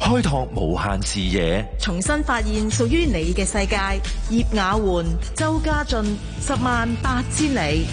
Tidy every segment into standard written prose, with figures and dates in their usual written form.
開拓無限視野， 重新發現屬於你嘅世界。葉雅媛、周家俊，108000里。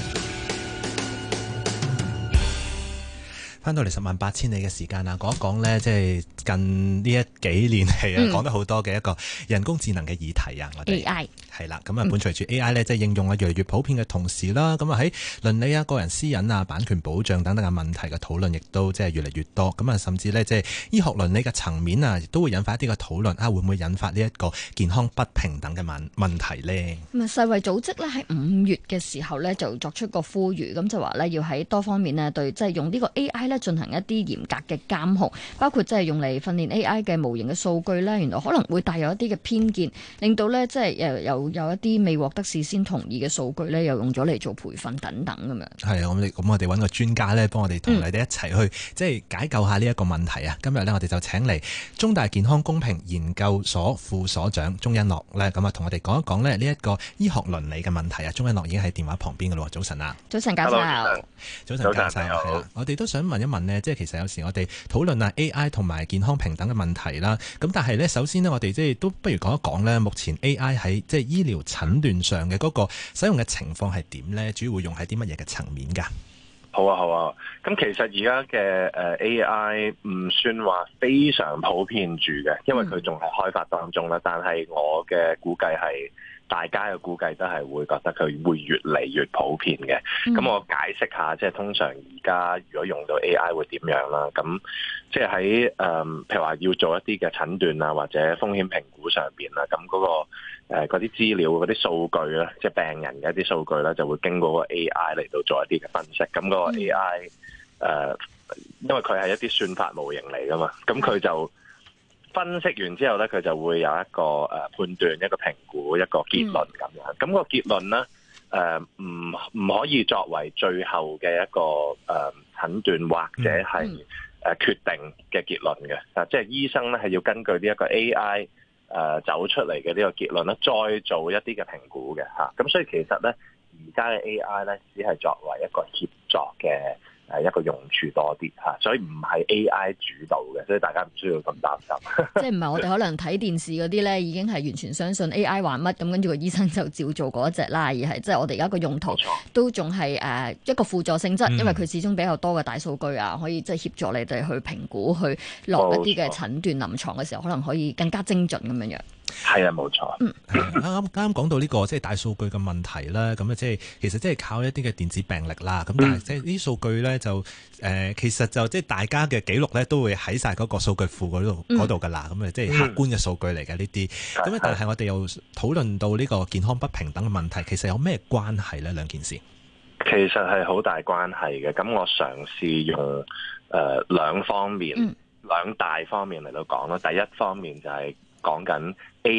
翻到嚟108000里嘅時間啦，講一講呢，即係近呢幾年嚟講得好多嘅一個人工智能嘅議題啊，我哋 AI 係啦，咁啊，伴隨住 AI 呢，即係應用啊越嚟越普遍嘅同時啦，咁啊喺倫理啊、個人私隱啊、版權保障等等嘅問題嘅討論，亦都即係越嚟越多。咁啊，甚至呢，即係醫學倫理嘅層面啊，亦都會引發一啲嘅討論啊，會唔會引發呢一個健康不平等嘅問題呢？ 咁啊，世衛組織呢喺5月嘅時候呢，就作出個呼籲，咁就話呢，要喺多方面呢，對即係用呢個 AI 呢進行一啲嚴格嘅監控，包括即係用嚟訓練 AI 嘅模型嘅數據呢，原來可能會帶有一啲嘅偏見，令到呢，即係有一啲未獲得事先同意嘅數據呢，又用咗嚟做培訓等等咁樣。係啊， 咁我哋揾個專家呢，幫我哋同你哋一齊去即係解救下呢一個問題啊！今日呢，我哋就請嚟中大健康公平研究所副所長鍾欣諾呢，咁啊同我哋講一講呢一個醫學倫理嘅問題啊！鍾欣諾已經喺電話旁邊㗎喇喎，早晨啊！ 早晨，教授。 早晨，教授。係啦，我哋都想問一問呢，即係其實有時我哋討論啊 AI 同埋健康平等嘅問題啦，咁但係呢，首先呢，我哋即係都不如講一講呢，目前 AI 喺即係醫療診斷上嘅嗰個使用嘅情況係點呢？主要會用喺啲乜嘢嘅層面㗎？ 好啊，咁其實而家嘅AI 唔算話非常普遍住嘅，因為佢仲係開發當中啦。但係我嘅估計係，大家嘅估計都係會覺得佢會越嚟越普遍嘅。咁我解釋下，即係通常而家如果用到 AI 會點樣啦？咁即係喺譬如話要做一啲嘅診斷啊，或者風險評估上邊啦，咁嗰啲資料、嗰啲數據咧，即係病人嘅一啲數據咧，就會經過個 AI 嚟到做一啲嘅分析。咁個 AI 因為佢係一啲算法模型嚟噶嘛，咁佢就分析完之後咧，佢就會有一個判斷、一個評估、一個結論咁樣。咁個結論咧，唔可以作為最後嘅一個診斷或者係決定嘅結論嘅。即係醫生咧係要根據呢一個 AI 走出嚟嘅呢個結論咧，再做一啲嘅評估嘅嚇。咁所以其實咧，而家嘅 AI 咧，只係作為一個協助嘅一個用處多啲嚇，所以唔係 AI 主導嘅，所以大家唔需要咁擔心。即係唔係我哋可能睇電視嗰啲咧，已經係完全相信 AI 話乜咁，跟住個醫生就照做嗰一隻啦，而係即係我哋而家個用途都仲係一個輔助性質，因為佢始終比較多嘅大數據啊，可以即係協助你哋去評估、去落一啲嘅診斷臨床嘅時候，可能可以更加精準咁樣樣。係啊，冇錯。 啱啱講到呢個即係大數據嘅問題啦，咁啊即係其實即係靠一啲嘅電子病歷啦，咁但係即係呢啲數據咧就其實就即係大家嘅記錄咧都會喺晒嗰個數據庫嗰度㗎啦，咁啊即係客觀嘅數據嚟嘅呢啲。咁但係我哋又討論到呢個健康不平等嘅問題，其實有咩關係咧？兩件事其實係好大關係嘅。咁我嘗試用兩方面、兩大方面嚟到講啦。第一方面就係講緊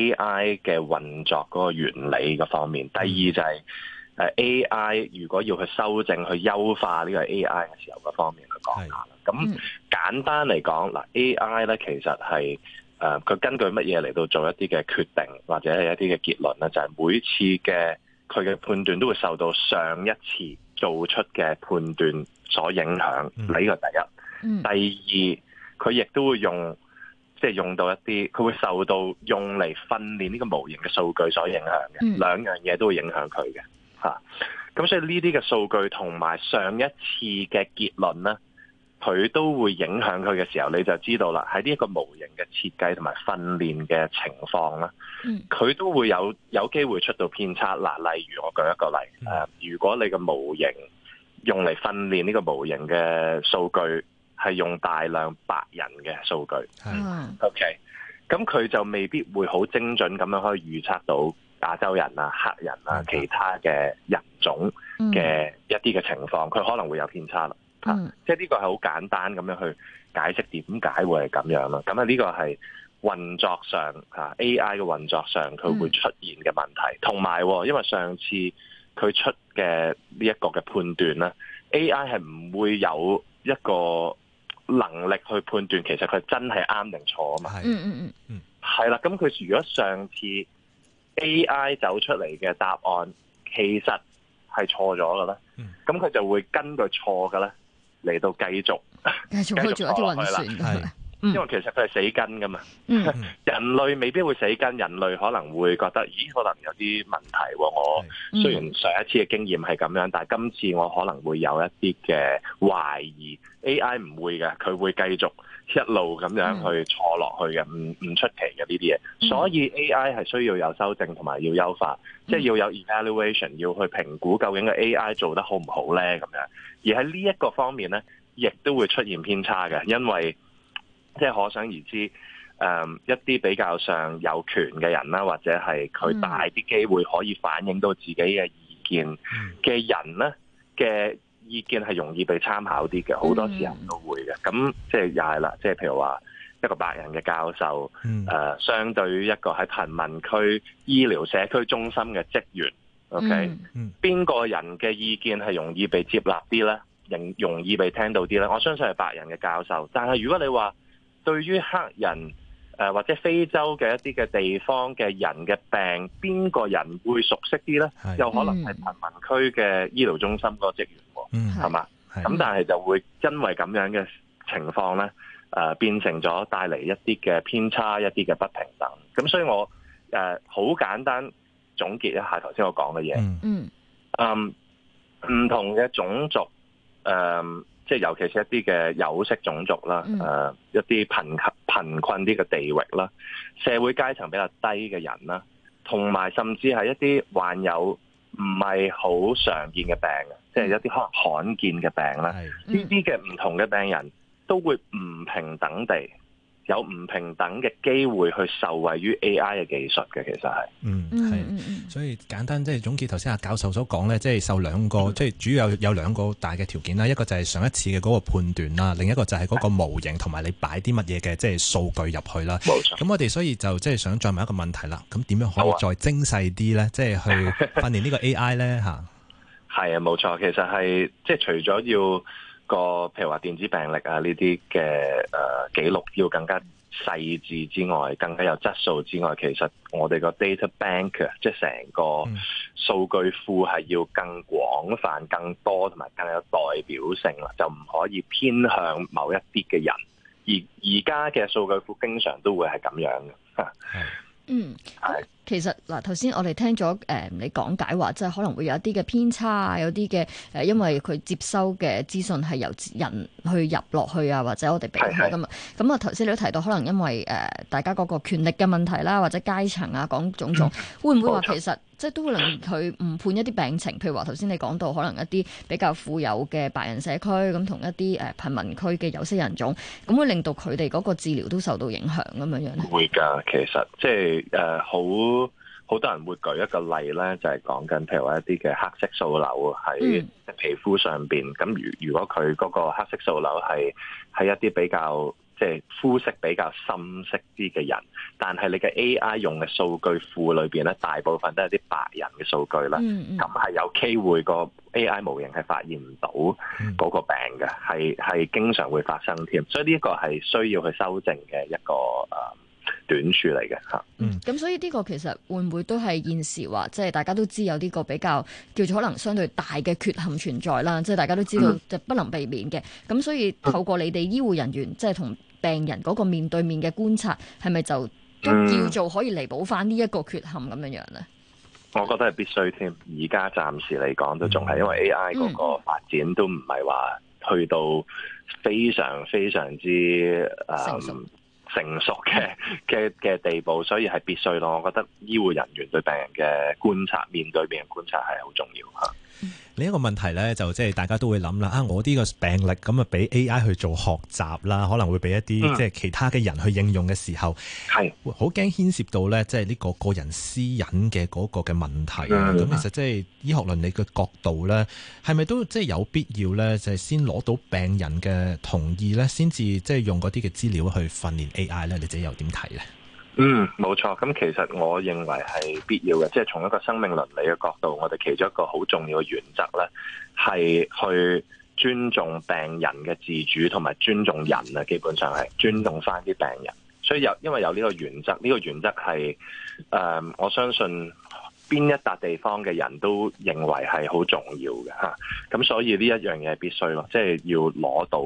AI 嘅運作嗰個原理嘅方面，第二就係AI 如果要去修正、去優化呢個 AI 嘅時候嗰方面去講下啦。咁簡單嚟講，嗱 AI 咧其實係佢根據乜嘢嚟到做一啲嘅決定或者係一啲嘅結論咧？就係每次嘅佢嘅判斷都會受到上一次做出嘅判斷所影響。呢個第一。第二，佢亦都會即係用到一啲，佢會受到用嚟訓練呢個模型嘅數據所影響嘅，兩樣嘢都會影響佢嘅嚇。咁所以呢啲嘅數據同埋上一次嘅結論咧，佢都會影響佢嘅時候，你就知道啦。喺呢一個模型嘅設計同埋訓練嘅情況咧，佢都會有機會出到偏差。嗱，例如我舉一個例，如果你個模型用嚟訓練呢個模型嘅數據，係用大量白人嘅數據，OK，咁佢就未必會好精準咁樣可以預測到亞洲人啊、黑人啊、其他嘅人種嘅一啲嘅情況，佢可能會有偏差啦。即係呢個係好簡單咁樣去解釋點解會係咁樣啦。咁啊呢個係運作上AI 嘅運作上佢會出現嘅問題，同埋因為上次佢出嘅呢一個嘅判斷咧，AI 係唔會有一個能力去判斷其實佢真係啱定錯啊嘛。係啦，咁佢如果上次 AI 走出嚟嘅答案其實係錯咗嘅咧，咁佢就會根據錯嘅咧嚟到繼續去做一啲運算。 因為其實佢係死根噶嘛。人類未必會死根，人類可能會覺得，咦，可能有啲問題喎。我雖然上一次嘅經驗係咁樣，但係今次我可能會有一啲嘅懷疑。AI 唔會嘅，佢會繼續一路咁樣去坐落去嘅，唔出奇嘅呢啲嘢。所以 AI 係需要有修正同埋要優化，即係要有 evaluation， 要去評估究竟個 AI 做得好唔好咧咁樣。而喺呢一個方面咧，亦都會出現偏差嘅，因為即係可想而知，一啲比較上有權嘅人啦，或者係佢大啲機會可以反映到自己嘅意見嘅人咧嘅意見係容易被參考啲嘅，好多時候都會嘅。咁即係又係啦，即係譬如話一個白人嘅教授，相對於一個喺貧民區醫療社區中心嘅職員 ，OK，邊個人嘅意見係容易被接納啲咧？容易被聽到啲咧？我相信係白人嘅教授。但係如果你話對於黑人或者非洲嘅一啲嘅地方嘅人嘅病，邊個人會熟悉啲咧？有可能係貧民區嘅醫療中心個職員，係嘛？咁但係就會因為咁樣嘅情況咧，變成咗帶嚟一啲嘅偏差，一啲嘅不平等。咁所以我好簡單總結一下頭先我講嘅嘢。唔同嘅種族，即係尤其是一啲嘅有色種族啦，一啲貧困啲嘅地域啦，社會階層比較低嘅人啦，同埋甚至係一啲患有唔係好常見嘅病，即係一啲可能罕見嘅病啦。呢啲嘅唔同嘅病人都會唔平等地有唔平等嘅機會去受惠於 AI 嘅技術嘅，其實係。 所以簡單即係總結頭先阿教授所講咧，即係受兩個，即係主要有兩個大嘅條件啦。一個就係上一次嘅嗰個判斷啦，另一個就係嗰個模型同埋你擺啲乜嘢嘅即係數據入去啦。 冇錯。 咁我哋所以就即係想再問一個問題啦。咁點樣可以再精細啲咧？即係去訓練呢個 AI 咧嚇？係啊，冇錯。其實係即係除咗要個譬如話電子病歷啊呢啲嘅記錄要更加細緻之外，更加有質素之外，其實我哋個 data bank 即係成個數據庫係要更廣泛、更多同埋更有代表性啦，就唔可以偏向某一啲嘅人。而家嘅數據庫經常都會係咁樣嘅。 其實嗱，頭先我哋聽咗你講解話，即係可能會有一啲嘅偏差啊，有啲嘅因為佢接收嘅資訊係由人去入落去啊，或者我哋避開噶嘛。咁啊，頭先你都提到，可能因為大家嗰個權力嘅問題啦，或者階層啊，講種種，會唔會話其實即係都會令佢誤判一啲病情？譬如話頭先你講到，可能一啲比較富有嘅白人社區咁，同一啲貧民區嘅有色人種，咁會令到佢哋嗰個治療都受到影響咁樣樣咧？會㗎，其實即係好多人會舉一個例咧，就係講緊譬如話一啲嘅黑色素瘤喺皮膚上邊。咁如果佢嗰個黑色素瘤係一啲比較即係膚色比較深色啲嘅人，但係你嘅 AI 用嘅數據庫裏邊咧，大部分都係啲白人嘅數據啦。咁係有機會個 AI 模型係發現唔到嗰個病嘅，係經常會發生添。所以呢一個係需要去修正嘅一個短處嚟嘅嚇。 咁所以呢個其實會唔會都係現時話，即係大家都知有呢個比較叫做可能相對大嘅缺陷存在啦，即係大家都知道就不能避免嘅。咁所以透過你哋醫護人員即係同病人嗰個面對面嘅觀察，係咪就都叫做可以彌補翻呢一個缺陷咁樣樣咧？ 我覺得係必須添。而家暫時嚟講都仲係因為 AI 嗰個發展都唔係話去到非常非常之成熟嘅地步，所以係必須咯。我覺得醫護人員對病人嘅觀察，面對病人觀察係好重要嚇。 另一個問題咧，就即係大家都會諗啦。我啲個病歷咁啊，俾 AI 去做學習啦，可能會俾一啲即係其他嘅人去應用嘅時候，係好驚牽涉到咧，即係呢個個人私隱嘅嗰個嘅問題啊。咁其實即係醫學倫理嘅角度咧，係咪都即係有必要咧，就係先攞到病人嘅同意咧，先至即係用嗰啲嘅資料去訓練 AI 咧？你自己又點睇咧？ 冇錯。咁其實我認為係必要嘅，即係從一個生命倫理嘅角度，我哋其中一個好重要嘅原則咧，係去尊重病人嘅自主同埋尊重人啊，基本上係尊重翻啲病人。所以因為有呢個原則，呢個原則係我相信邊一笪地方嘅人都認為係好重要嘅嚇。咁所以呢一樣嘢係必須咯，即係要攞到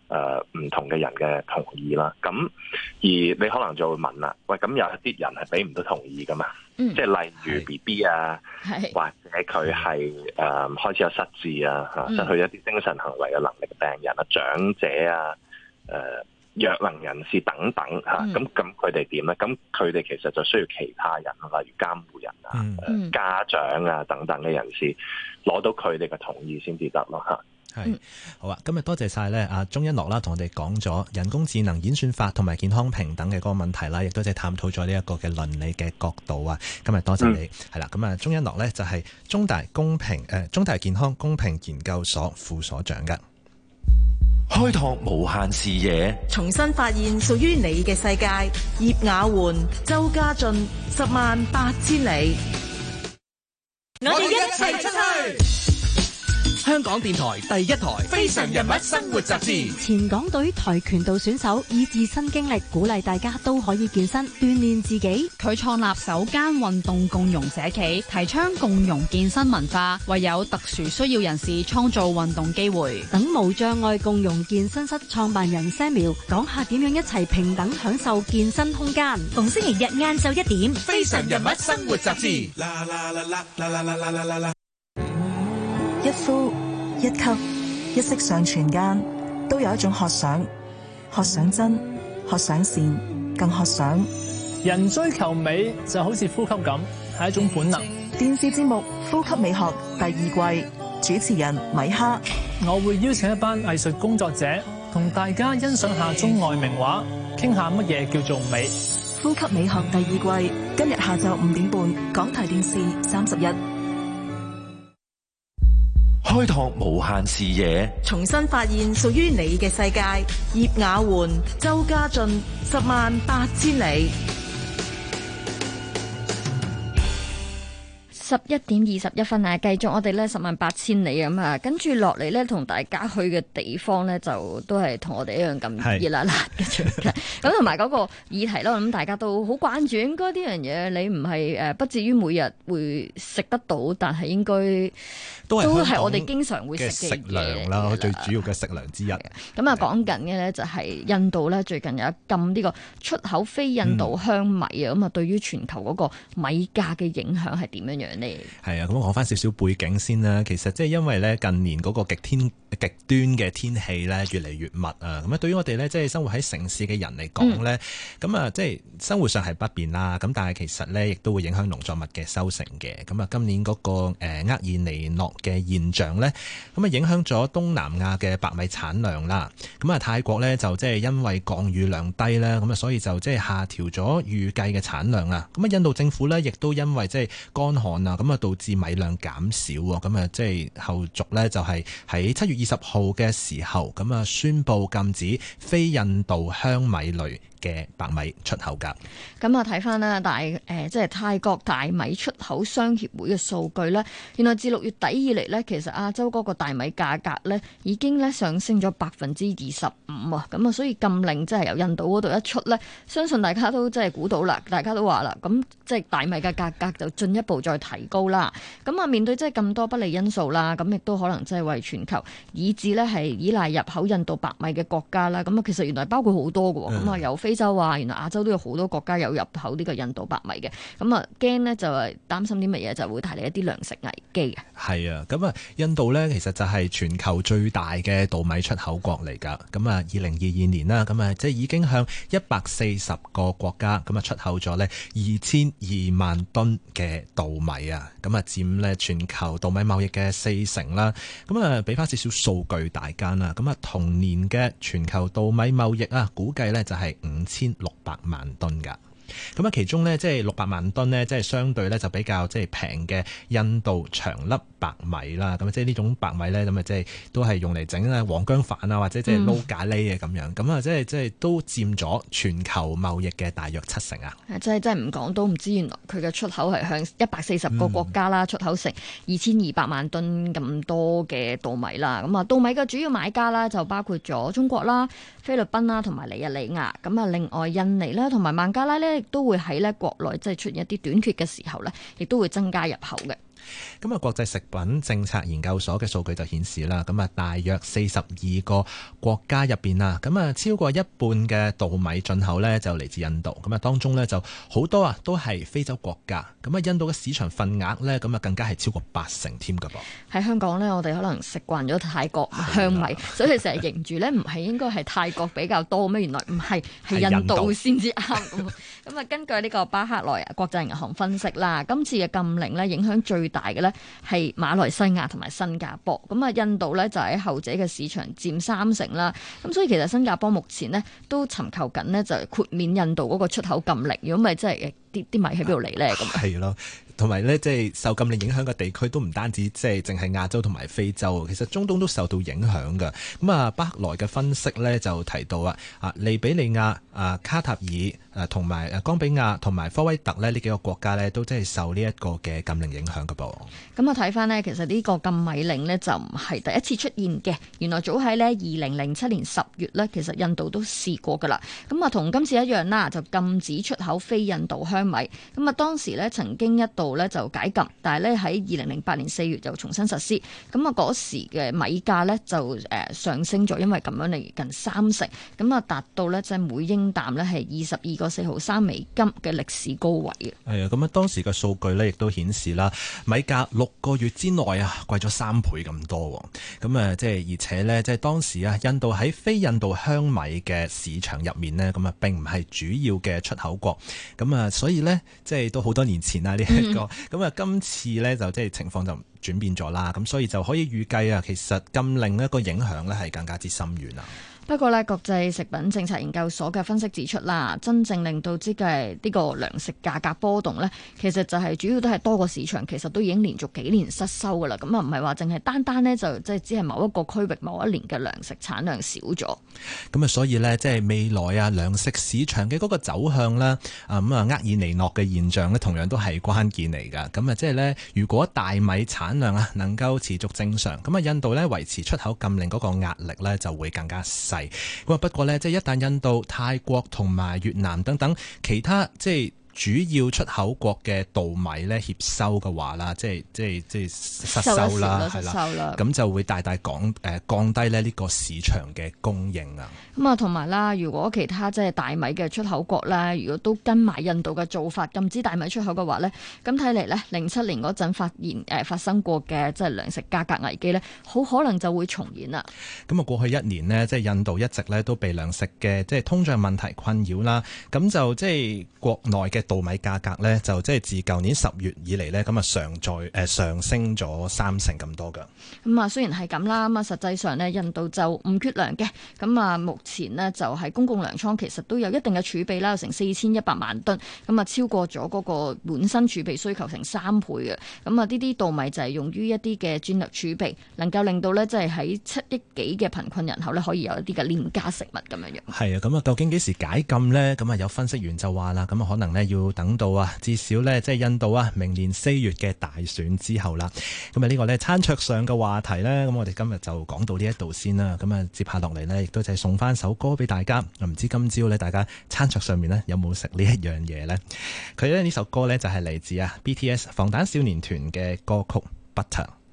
唔同嘅人嘅同意啦。咁而你可能就會問啦，喂，咁有一啲人係俾唔到同意噶嘛？即係例如 BB 啊，或者佢係開始有失智啊，失去一啲精神行為嘅能力嘅病人啊、長者啊、弱能人士等等嚇，咁佢哋點咧？咁佢哋其實就需要其他人，例如監護人啊、家長啊等等嘅人士攞到佢哋嘅同意先至得咯嚇。 係好啊！今日多謝晒咧，阿鍾一諾啦，同我哋講咗人工智能演算法同埋健康平等嘅嗰個問題啦，亦都即係探討咗呢一個嘅倫理嘅角度啊！今日多謝你，係啦，咁啊，鍾一諾咧就係中大健康公平研究所副所長嘅。 開拓無限視野， 重新發現屬於你嘅世界。葉雅媛、周家俊，108000里。 我哋一齊出去。香港電台第一台《非常人物生活雜誌》。 前港隊跆拳道選手以自身經歷鼓勵大家都可以健身鍛煉自己。 佢創立首間運動共融社企，提倡共融健身文化，為有特殊需要人士創造運動機會。 等無障礙共融健身室創辦人 Samuel 講下點樣一齊平等享受健身空間。逢星期日晏晝1點，《 非常人物生活雜誌》。 一呼一吸一息尚存間，都有一種渴想，渴想真，渴想善，更渴想。 人追求美就好似呼吸咁，係一種本能。 電視節目《呼吸美學》第2季，主持人米哈， 我會邀請一班藝術工作者，同大家欣賞下中外名畫，傾下乜嘢叫做美。 《呼吸美學》第2季，今日下晝5點半，港台電視31。 開拓無限視野， 重新發現屬於你嘅世界。葉雅媛、周家俊，108000里。 11:21啊，繼續我哋咧108000里咁啊，跟住落嚟咧，同大家去嘅地方咧，就都係同我哋一樣咁熱辣辣嘅場嘅。咁同埋嗰個議題啦，我諗大家都好關注。應該呢樣嘢你唔係不至於每日會食得到，但係應該都係我哋經常會食嘅糧啦，最主要嘅食糧之一。 咁啊，講緊嘅咧就係印度咧，最近有一禁呢個出口非印度香米啊，咁啊，對於全球嗰個米價嘅影響係點樣樣？ 係啊，咁我講翻少少背景先啦。其實即係因為咧近年嗰個極端嘅天氣咧越嚟越密啊，咁啊對於我哋咧即係生活喺城市嘅人嚟講咧，咁啊即係生活上係不便啦。咁但係其實咧亦都會影響農作物嘅收成嘅。咁啊今年嗰個厄爾尼諾嘅現象咧，咁啊影響咗東南亞嘅白米產量啦。咁啊泰國咧就即係因為降雨量低啦，咁啊所以就即係下調咗預計嘅產量啊。咁啊印度政府咧亦都因為即係乾旱啊，咁啊導致米量減少喎，咁啊即係後續咧就係喺7月20號嘅時候，咁啊宣布禁止非印度香米類嘅白米出口㗎。 咁啊睇翻啦，即係泰國大米出口商協會嘅數據咧，原來自6月底以嚟咧，其實亞洲嗰個大米價格咧已經咧上升咗25%啊！咁啊，所以禁令即係由印度嗰度一出咧，相信大家都即係估到啦，大家都話啦，咁即係大米嘅價格就進一步再提高啦。咁啊，面對即係咁多不利因素啦，咁亦都可能即係為全球以至咧係依賴入口印度白米嘅國家啦。咁啊，其實原來包括好多嘅，咁啊由非洲啊，原來亞洲都有好多國家有入口呢個印度白米嘅。咁啊驚呢就係擔心啲乜嘢，就會帶嚟一啲糧食危機嘅。 係啊，咁啊印度呢其實就係全球最大嘅稻米出口國嚟㗎。咁啊2022年啦，咁啊即係已經向140個國家咁啊出口咗呢22萬噸嘅稻米啊。咁啊佔咧全球稻米貿易嘅40%啦。咁啊俾翻少少數據大家啦。咁啊同年嘅全球稻米貿易啊，估計呢就係5600萬噸㗎。咁啊，其中呢，即係600萬噸呢，即係相對呢，就比較即係平嘅印度長粒白米啦。咁即係呢種白米呢，咁啊即係都係用嚟整啊黃薑飯啊，或者即係撈咖喱嘅咁樣。咁啊，即係都佔咗全球貿易嘅大約70%啊。 真係唔講都唔知，原來佢嘅出口係向140個國家啦，出口成2200萬噸咁多嘅稻米啦。咁啊，稻米嘅主要買家啦，就包括咗中國啦、菲律賓啦同埋尼日利亞。咁啊，另外印尼啦同埋孟加拉呢，亦都會喺咧國內即係出現一啲短缺嘅時候咧，亦都會增加入口嘅。 咁啊，國際食品政策研究所嘅數據就顯示啦，咁啊，大約42個國家入邊啊，咁啊，超過一半嘅稻米進口呢就嚟自印度。咁啊，當中呢就好多啊，都係非洲國家。咁啊，印度嘅市場份額呢，咁啊，更加係超過80%添㗎噃。 喺香港呢，我哋可能食慣咗泰國香米，所以成日認住呢，唔係應該係泰國比較多咩？原來唔係，係印度先至啱。咁啊，根據呢個巴克萊國際銀行分析啦，今次嘅禁令呢，影響最大嘅呢係馬來西亞同埋新加坡。咁啊，印度呢就喺後者嘅市場佔30%啦。咁所以其實新加坡目前呢都尋求緊呢，就係豁免印度嗰個出口禁令。如果唔係，真係啲米喺邊度嚟呢？咁係咯。同埋咧，即係受禁令影響嘅地區都唔單止即係淨係亞洲同埋非洲，其實中東都受到影響㗎。咁啊，巴克萊嘅分析咧就提到利比里亞、卡塔爾同埋岡比亞同埋科威特呢幾個國家呢都真係受呢一個嘅禁令影響㗎噃。 咁啊，睇翻呢，其實呢個禁米令呢就唔係第一次出現嘅。原來早喺呢2007年10月呢，其實印度都試過㗎啦。咁啊，同今次一樣啦，就禁止出口非印度香米。咁啊，當時呢曾經一度咧就解禁，但係咧喺2008年4月就重新實施。咁啊，嗰時嘅米價咧就上升咗，因為咁樣嚟近30%，咁啊達到咧即係每英擔咧係22個4毫3美金嘅歷史高位嘅。 係啊，咁啊當時嘅數據咧亦都顯示啦，米價6個月之內啊貴咗3倍咁多。咁啊即係而且咧即係當時啊印度喺非印度香米嘅市場入面呢，咁啊並唔係主要嘅出口國。咁啊所以咧即係都好多年前啦呢一個。咁啊，今次咧就即係情況就轉變咗啦，咁所以就可以預計啊，其實禁令一個影響咧係更加之深遠啊。 不過呢，國際食品政策研究所嘅分析指出啦，真正令到即係呢個糧食價格波動呢，其實就係主要都係多個市場，其實都已經連續幾年失收噶啦。咁啊，唔係話淨係單單呢，就即係只係某一個區域某一年嘅糧食產量少咗。咁啊，所以呢，即係未來啊糧食市場嘅嗰個走向啦，厄爾尼諾嘅現象呢，同樣都係關鍵嚟㗎。咁啊，即係呢，如果大米產量啊能夠持續正常，咁啊印度呢維持出口禁令嗰個壓力呢就會更加細。咁啊，不過呢，即係一旦印度、泰國同埋越南等等其他即係主要出口國嘅稻米咧協收嘅話啦，即係失收啦，係啦，咁就會大大降低咧呢個市場嘅供應啊。 咁啊，同埋啦，如果其他即係大米嘅出口國咧，如果都跟埋印度嘅做法禁止大米出口嘅話咧，咁睇嚟咧07年嗰陣發生過嘅即係糧食價格危機咧，好可能就會重演啦。 咁啊，過去1年呢，即係印度一直咧都被糧食嘅即係通脹問題困擾啦，咁就即係國內嘅稻米價格咧就即係自舊年10月以嚟咧咁啊上升咗30%咁多㗎。 咁啊，雖然係咁啦，咁啊實際上呢，印度就唔缺糧嘅。咁啊，目前呢，就係公共糧倉其實都有一定嘅儲備啦，有成4100萬噸，咁啊超過咗嗰個本身儲備需求成3倍嘅。咁啊，呢啲稻米就係用於一啲嘅戰略儲備，能夠令到呢，即係喺7億幾嘅貧困人口呢，可以有一啲嘅廉價食物咁樣樣。係啊，咁啊究竟幾時解禁呢？咁啊有分析員就話啦，咁啊可能呢要等到至少呢，即係印度明年4月嘅大選之後啦。咁啊呢個呢，餐桌上嘅話題呢，咁我哋今日就講到呢一度先啦。咁啊接下落嚟呢，亦都就係送翻首歌俾大家。唔知今朝呢，大家餐桌上面呢，有冇食呢一樣嘢呢？佢呢首歌呢，就係嚟自BTS 防彈少年團嘅歌曲 Butter。